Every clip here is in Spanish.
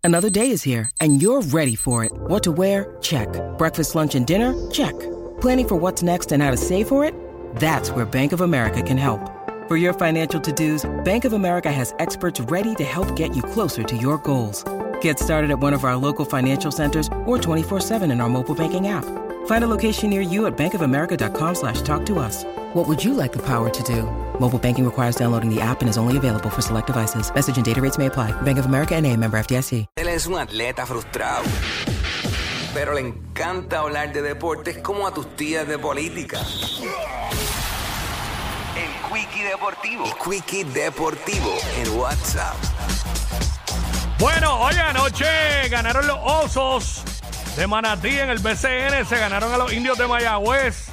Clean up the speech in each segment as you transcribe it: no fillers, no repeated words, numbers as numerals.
Another day is here, and you're ready for it. What to wear? Check. Breakfast, lunch, and dinner? Check. Planning for what's next and how to save for it? That's where Bank of America can help. For your financial to-dos, Bank of America has experts ready to help get you closer to your goals. Get started at one of our local financial centers or 24/7 in our mobile banking app. Find a location near you at bankofamerica.com/talktous. What would you like the power to do? Mobile banking requires downloading the app and is only available for select devices. Message and data rates may apply. Bank of America N.A., member FDIC. Él es un atleta frustrado, pero le encanta hablar de deportes como a tus tías de política. El Quickie Deportivo. El Quickie Deportivo en WhatsApp. Bueno, hoy anoche ganaron los Osos de Manatí en el BCN. Se ganaron a los Indios de Mayagüez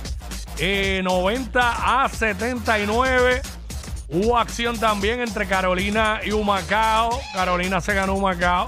90-79. Hubo acción también entre Carolina y Humacao. Carolina se ganó Humacao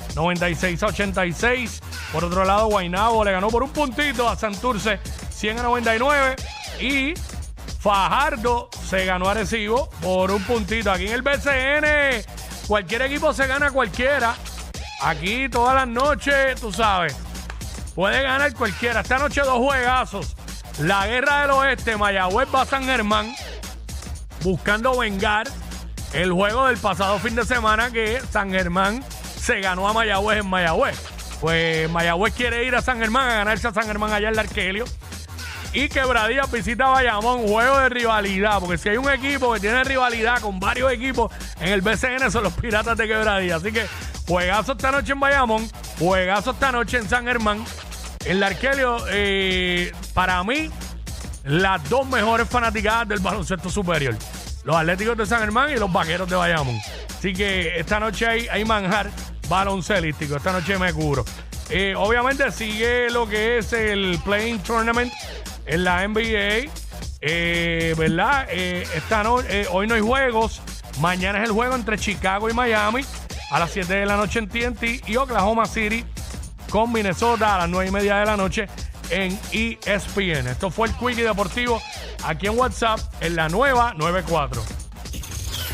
96-86. Por otro lado, Guaynabo le ganó por un puntito a Santurce 100-99. Y Fajardo se ganó a Arecibo por un puntito. Aquí en el BCN, cualquier equipo se gana a cualquiera. Aquí todas las noches, tú sabes, puede ganar cualquiera. Esta noche 2 juegazos. La Guerra del Oeste, Mayagüez va a San Germán, buscando vengar el juego del pasado fin de semana que San Germán se ganó a Mayagüez en Mayagüez. Pues Mayagüez quiere ir a San Germán, a ganarse a San Germán allá en la Arkelio. Y Quebradillas visita Bayamón, juego de rivalidad, porque si hay un equipo que tiene rivalidad con varios equipos en el BCN son los Piratas de Quebradillas. Así que juegazo esta noche en Bayamón, juegazo esta noche en San Germán. En la Arkelio, para mí, las 2 mejores fanaticadas del baloncesto superior. Los Atléticos de San Germán y los Vaqueros de Bayamón. Así que esta noche hay manjar baloncelístico. Esta noche me curo. Obviamente sigue lo que es el Playing Tournament en la NBA, ¿verdad? Hoy no hay juegos. Mañana es el juego entre Chicago y Miami a las 7 de la noche en TNT y Oklahoma City con Minnesota a las 9:30 de la noche en ESPN. Esto fue el Quickie Deportivo aquí en WhatsApp en la nueva 94.